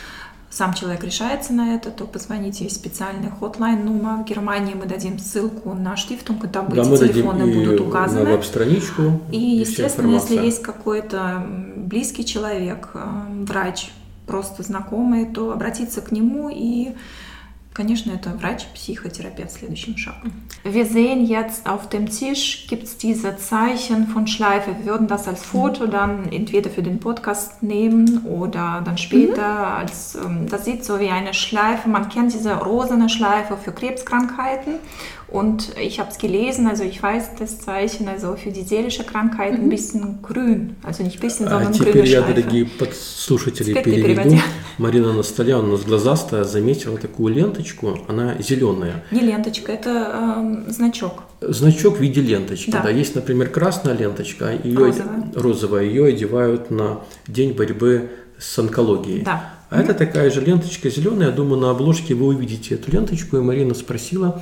C: сам человек решается на это, то позвоните, есть специальный хотлайн-номер. В Германии мы дадим ссылку на Штифтунг, там
B: да,
C: эти телефоны будут указаны.
B: На веб-страничку.
C: И, естественно, если есть какой-то близкий человек, врач, просто знакомый, то обратиться к нему и, конечно, это врач, Psychotherapeut следующим шагом. Wir sehen jetzt auf dem Tisch, gibt es diese Zeichen von Schleife. Wir würden das als Foto dann entweder für den Podcast nehmen oder dann später mhm. als, das sieht so wie eine Schleife, man kennt diese rosane Schleife für Krebskrankheiten. Und ich habe es gelesen, also ich weiß das Zeichen, also für die seelische Krankheit ein bisschen grün, also nicht ein bisschen, sondern
B: а
C: grüne
B: теперь я,
C: Schleife.
B: дорогие подслушатели, переведу. Марина на столе, она у нас глазастая, заметила такую ленточку, она зеленая.
C: Не ленточка, это э, значок.
B: Значок в виде ленточки, да.
C: да.
B: Есть, например, красная ленточка, ее,
C: розовая.
B: розовая, ее одевают на День борьбы с онкологией.
C: Да.
B: А mm-hmm. это такая же ленточка зеленая, я думаю, на обложке вы увидите эту ленточку, и Марина спросила...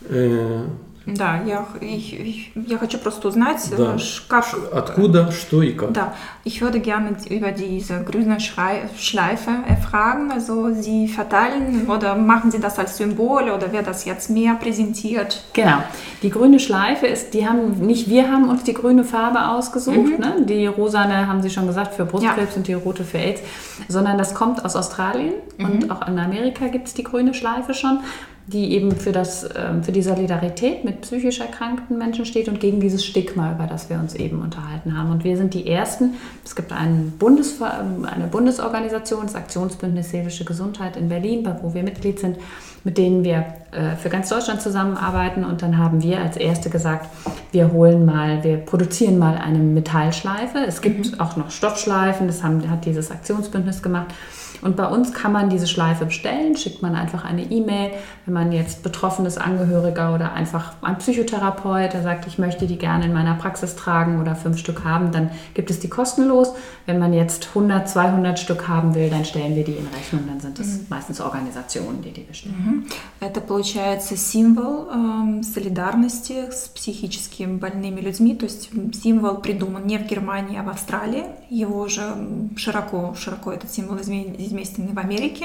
B: Э,
C: Да, я, ich, я хочу просто узнать,
B: да.
C: как...
B: Откуда, что и как.
C: Да, ich würde gerne über diese grüne Schleife erfragen. Also Sie verteilen oder machen Sie das als Symbol oder wird das jetzt mehr präsentiert?
D: Genau, die grüne Schleife ist, die haben, nicht wir haben uns die grüne Farbe ausgesucht, mhm. ne? Die rosane haben Sie schon gesagt für Brustkrebs ja. und die rote für AIDS, sondern das kommt aus Australien mhm. und auch in Amerika gibt es die grüne Schleife schon, die eben für, das, für die Solidarität mit psychisch erkrankten Menschen steht und gegen dieses Stigma, über das wir uns eben unterhalten haben. Und wir sind die Ersten, es gibt einen Bundes, eine Bundesorganisation, das Aktionsbündnis Seelische Gesundheit in Berlin, wo wir Mitglied sind, mit denen wir für ganz Deutschland zusammenarbeiten. Und dann haben wir als Erste gesagt, wir holen mal, wir produzieren mal eine Metallschleife. Es gibt mhm. auch noch Stoffschleifen, das haben, hat dieses Aktionsbündnis gemacht. Und bei uns kann man diese Schleife bestellen, schickt man einfach eine E-Mail, wenn man jetzt betroffenes Angehöriger oder einfach ein Psychotherapeut, der sagt, ich möchte die gerne in meiner Praxis tragen oder fünf Stück haben, dann gibt es die kostenlos. Wenn man jetzt hundert, zweihundert Stück haben will, dann stellen wir die in Rechnung, dann sind es mhm. meistens Organisationen, die die bestellen.
C: Это получается символ э, солидарности с психически больными людьми, то есть символ придуман не в Германии, а в Австралии, его же широко, широко этот символ известен в Америке.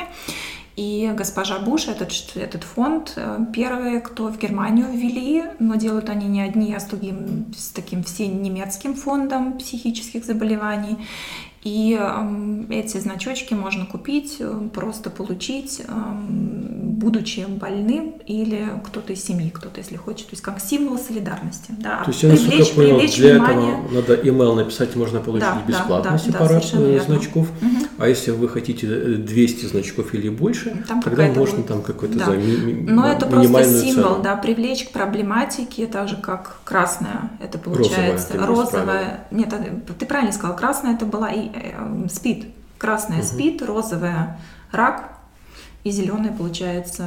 C: И госпожа Буш, этот, этот фонд, первые, кто в Германию ввели, но делают они не одни, а с, другим, с таким всем немецким фондом психических заболеваний. И э, эти значочки можно купить, просто получить, э, будучи больным или кто-то из семьи, кто-то, если хочет, то есть как символ солидарности. Да.
B: То есть я насколько понял, для внимание... этого надо имейл написать, можно получить да, бесплатно да, сепарат да, значков, угу. а если вы хотите двести значков или больше, там тогда можно вот, там какой-то
C: да.
B: за ми- ми-
C: Но это просто символ,
B: цену.
C: Да, привлечь к проблематике, так же как красная, это получается розовая. розовая. Нет, ты правильно сказал, красная это была и СПИД. Красная угу. СПИД, розовая рак и зеленая получается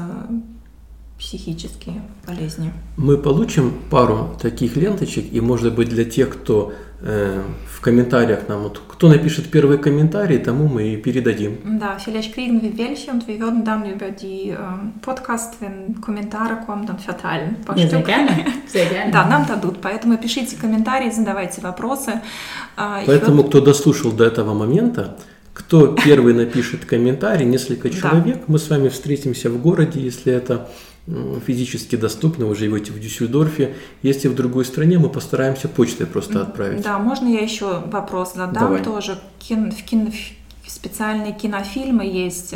C: психические болезни.
B: Мы получим пару таких ленточек, и может быть для тех, кто э, в комментариях нам, вот, кто напишет первый комментарий, тому мы и передадим.
C: Да, vielleicht kriegen wir welche und wir würden dann über die äh, Podcast, wenn Kommentare kommen, dann verteilen.
D: Ja, sehr gerne, sehr gerne.
C: Да, нам дадут, поэтому пишите комментарии, задавайте вопросы.
B: Поэтому, кто дослушал до этого момента, кто первый напишет комментарий, несколько человек, да. мы с вами встретимся в городе, если это физически доступны, вы живете в Дюссельдорфе. Если в другой стране, мы постараемся почтой просто отправить.
C: Да, можно я еще вопрос задам?
B: Давай.
C: Тоже кин, в кино, специальные кинофильмы есть,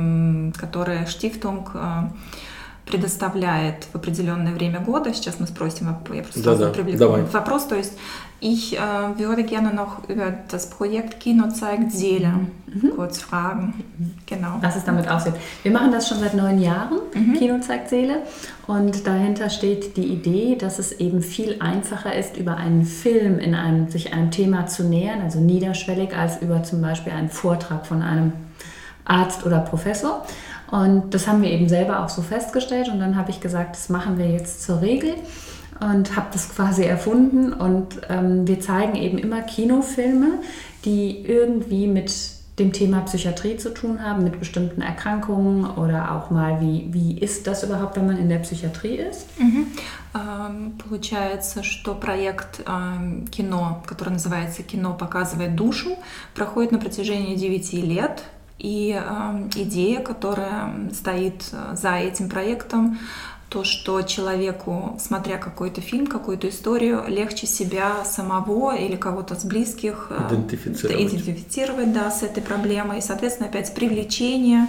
C: которые Штифтунг предоставляет в определенное время года. Сейчас мы спросим, я просто
B: да, да.
C: привлеку вопрос. То есть ich äh, würde gerne noch über das Projekt Kino zeigt Seele mhm. kurz fragen. Genau.
D: Was es damit aussieht. Wir machen das schon seit neun Jahren, mhm. Kino zeigt Seele. Und dahinter steht die Idee, dass es eben viel einfacher ist, über einen Film in einem, sich einem Thema zu nähern, also niederschwellig, als über zum Beispiel einen Vortrag von einem Arzt oder Professor. Und das haben wir eben selber auch so festgestellt. Und dann habe ich gesagt, das machen wir jetzt zur Regel. Und habe das quasi erfunden und ähm, wir zeigen eben immer Kinofilme, die irgendwie mit dem Thema Psychiatrie zu tun haben, mit bestimmten Erkrankungen oder auch mal, wie, wie ist das überhaupt, wenn man in der Psychiatrie ist?
C: Mhm. Ähm, получается, что проект э, кино, который называется «Кино показывает душу», проходит на протяжении девяти лет. И э, идея, которая стоит за этим проектом, то, что человеку, смотря какой-то фильм, какую-то историю, легче себя самого или кого-то с близких
B: идентифицировать,
C: идентифицировать да, с этой проблемой. И, соответственно, опять привлечение,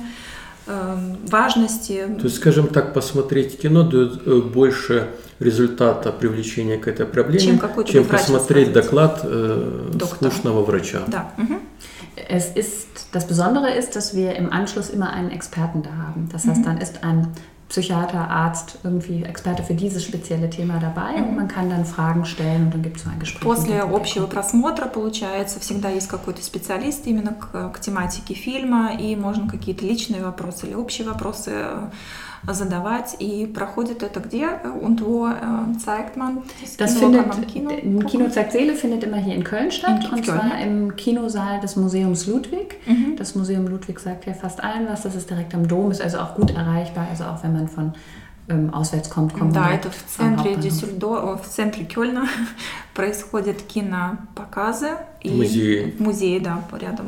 C: э, важности.
B: То есть, скажем так, посмотреть кино дает больше результата привлечения к этой проблеме, чем, чем посмотреть доклад э, скучного врача.
C: Да. Угу.
D: Es ist, das Besondere ist, dass wir im Anschluss immer einen Experten da haben. Das heißt, dann ist ein Psychiater, Arzt, irgendwie Experte für dieses spezielle Thema dabei und man kann dann Fragen stellen und dann gibt es so ein Gespräch.
C: После общего просмотра, получается, всегда есть какой-то специалист именно к, к тематике фильма, и можно какие-то личные вопросы или общие вопросы задавать. И проходит это где? Und wo äh, zeigt man das,
D: das
C: Kino?
D: Findet,
C: Kann man Kino
D: Kino, Kino zeigt Seele findet immer hier in Köln statt, in und Köln, zwar ja. im Kinosaal des Museums Ludwig. Mhm. Das Museum Ludwig sagt ja fast allen was, das ist direkt am Dom, ist also auch gut erreichbar, also auch wenn man von ähm, auswärts kommt, kommt
C: да,
D: man
C: это в центре Дюссельдорфа, в центре Кёльна происходят кинопоказы.
B: В музее.
C: В музее, да, рядом.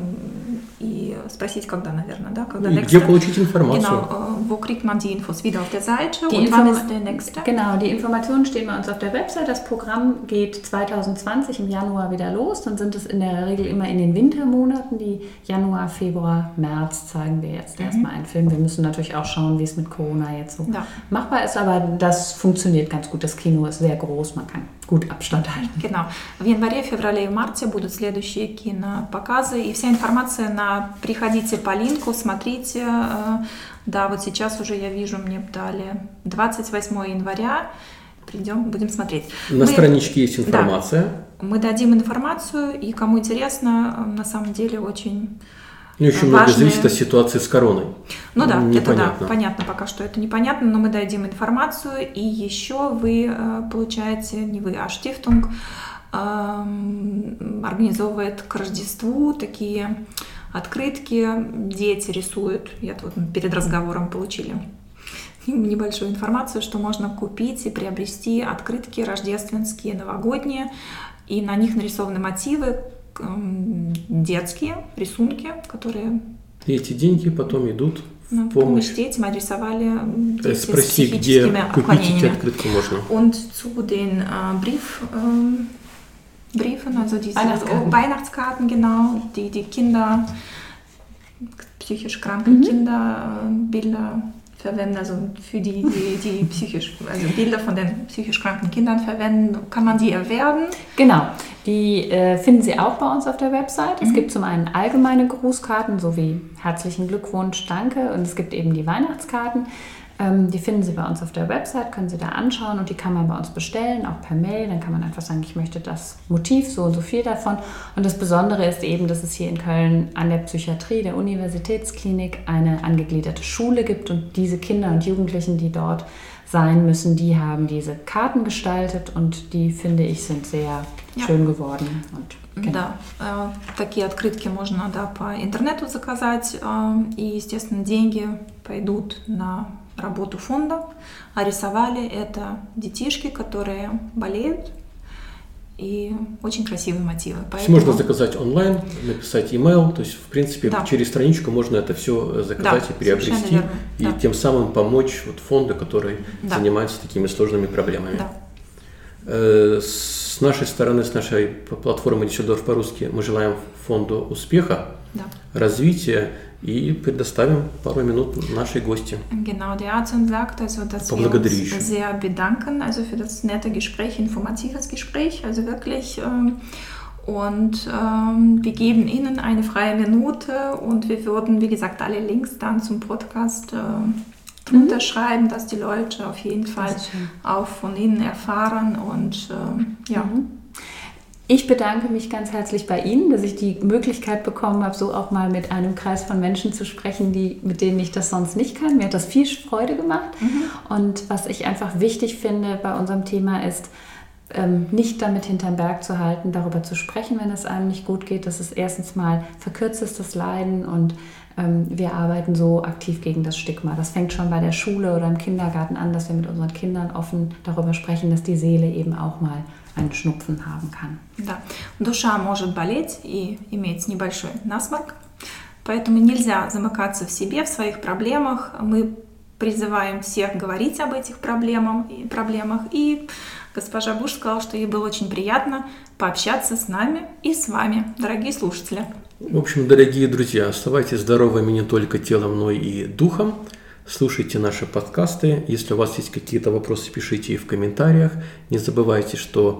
C: И спросить, когда, наверное, да? Когда
B: и где получить информацию?
C: Genau, wo kriegt man die Infos? Wieder auf der Seite
D: die
C: und
D: Inform-
C: wann ist der nächste?
D: Genau, die Informationen stehen bei uns auf der Website. Das Programm geht zwanzig zwanzig im Januar wieder los. Dann sind es in der Regel immer in den Wintermonaten. Die Januar, Februar, März zeigen wir jetzt mhm. erstmal einen Film. Wir müssen natürlich auch schauen, wie es mit Corona jetzt so ja. machbar ist, aber das funktioniert ganz gut. Das Kino ist sehr groß, man kann gut Abstand halten.
C: Genau. В январе, феврале и марте будут следующие кинопоказы, и вся информация на «Приходите по линку», смотрите. Да, вот сейчас уже я вижу, мне дали двадцать восьмого января. Придем, будем смотреть.
B: На мы, страничке есть информация.
C: Да, мы дадим информацию, и кому интересно, на самом деле очень
B: Ну, очень много зависит от ситуации с короной.
C: Ну да, непонятно. Это да, понятно пока что это непонятно, но мы дадим информацию, и еще вы получаете, не вы, а Штифтунг организовывает к Рождеству такие открытки, дети рисуют, я тут перед разговором получили небольшую информацию, что можно купить и приобрести открытки рождественские, новогодние, и на них нарисованы мотивы, детские рисунки, которые...
B: И эти деньги потом идут в
C: на
B: помощь.
C: Детям адресовали дети
B: Спроси,
C: с психическими
B: где купить эти открытки можно.
C: Und zu den äh, Brief, ähm, Briefen, also diese
D: Weihnachtskarten.
C: Weihnachtskarten, genau, die die Kinder, psychisch kranke mhm. Kinder, äh, Bilder verwenden, also für die, die, die psychisch, also Bilder von den psychisch kranken Kindern verwenden, kann man die erwerben?
D: Genau, die äh, finden Sie auch bei uns auf der Website. Es mhm. gibt zum einen allgemeine Grußkarten, sowie herzlichen Glückwunsch, danke, und es gibt eben die Weihnachtskarten. Ähm, die finden Sie bei uns auf der Website, können Sie da anschauen, und die kann man bei uns bestellen, auch per Mail. Dann kann man einfach sagen, ich möchte das Motiv, so und so viel davon. Und das Besondere ist eben, dass es hier in Köln an der Psychiatrie der Universitätsklinik eine angegliederte Schule gibt, und diese Kinder und Jugendlichen, die dort sein müssen, die haben diese Karten gestaltet, und die, finde ich, sind sehr ja. schön geworden. Und
C: genau. Да, э, такие открытки можно да, по интернету заказать, э, и, естественно, деньги пойдут на работу фонда, а рисовали это детишки, которые болеют, и очень красивые мотивы.
B: Поэтому... Можно заказать онлайн, написать email, то есть, в принципе, да. через страничку можно это все заказать да, и приобрести, и да. тем самым помочь вот фонду, который да. занимается такими сложными проблемами.
C: Да.
B: С нашей стороны, с нашей платформы Düsseldorf по-русски, мы желаем фонду успеха,
C: да.
B: развития и предоставим пару минут нашей гости.
C: Genau, der Arzt sagt, also, dass wir uns sehr bedanken, also für das nette Gespräch, informatives Gespräch, also wirklich. Ähm, und ähm, wir geben Ihnen eine freie Minute und wir würden, wie gesagt, alle Links dann zum Podcast äh, drunter mhm. schreiben, dass die Leute auf jeden Fall auch von Ihnen erfahren und ähm, ja.
D: Mhm. Ich bedanke mich ganz herzlich bei Ihnen, dass ich die Möglichkeit bekommen habe, so auch mal mit einem Kreis von Menschen zu sprechen, die, mit denen ich das sonst nicht kann. Mir hat das viel Freude gemacht. Mhm. Und was ich einfach wichtig finde bei unserem Thema ist, ähm, nicht damit hinterm Berg zu halten, darüber zu sprechen, wenn es einem nicht gut geht. Das ist erstens mal verkürztes Leiden und ähm, wir arbeiten so aktiv gegen das Stigma. Das fängt schon bei der Schule oder im Kindergarten an, dass wir mit unseren Kindern offen darüber sprechen, dass die Seele eben auch mal einen Schnupfen haben kann.
C: Да, душа может болеть и иметь небольшой насморк, поэтому нельзя замыкаться в себе, в своих проблемах. Мы призываем всех говорить об этих проблемах, и проблемах. И госпожа Буш сказала, что ей было очень приятно пообщаться с нами и с вами, дорогие слушатели.
B: В общем, дорогие друзья, оставайтесь здоровыми не только телом, но и духом. Слушайте наши подкасты. Если у вас есть какие-то вопросы, пишите их в комментариях. Не забывайте, что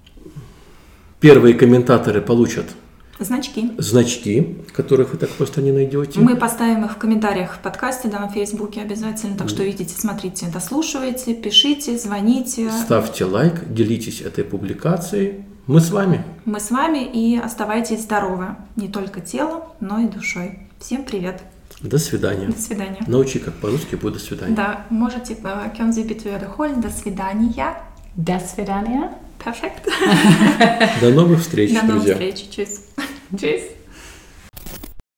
B: первые комментаторы получат
C: значки,
B: значки, которых вы так просто не найдете.
C: Мы поставим их в комментариях в подкасте, да, на Фейсбуке обязательно. Так что видите, смотрите, дослушивайте, пишите, звоните.
B: Ставьте лайк, делитесь этой публикацией. Мы с вами.
C: Мы с вами и оставайтесь здоровы. Не только телом, но и душой. Всем привет.
B: До свидания.
C: До свидания.
B: Научи, как по-русски будет до свидания.
C: Да, можете, können Sie bitte wiederholen? До свидания.
D: До свидания.
C: Perfekt.
B: До новых встреч,
C: друзья.
B: До
C: новых встреч. Tschüss.
D: Tschüss.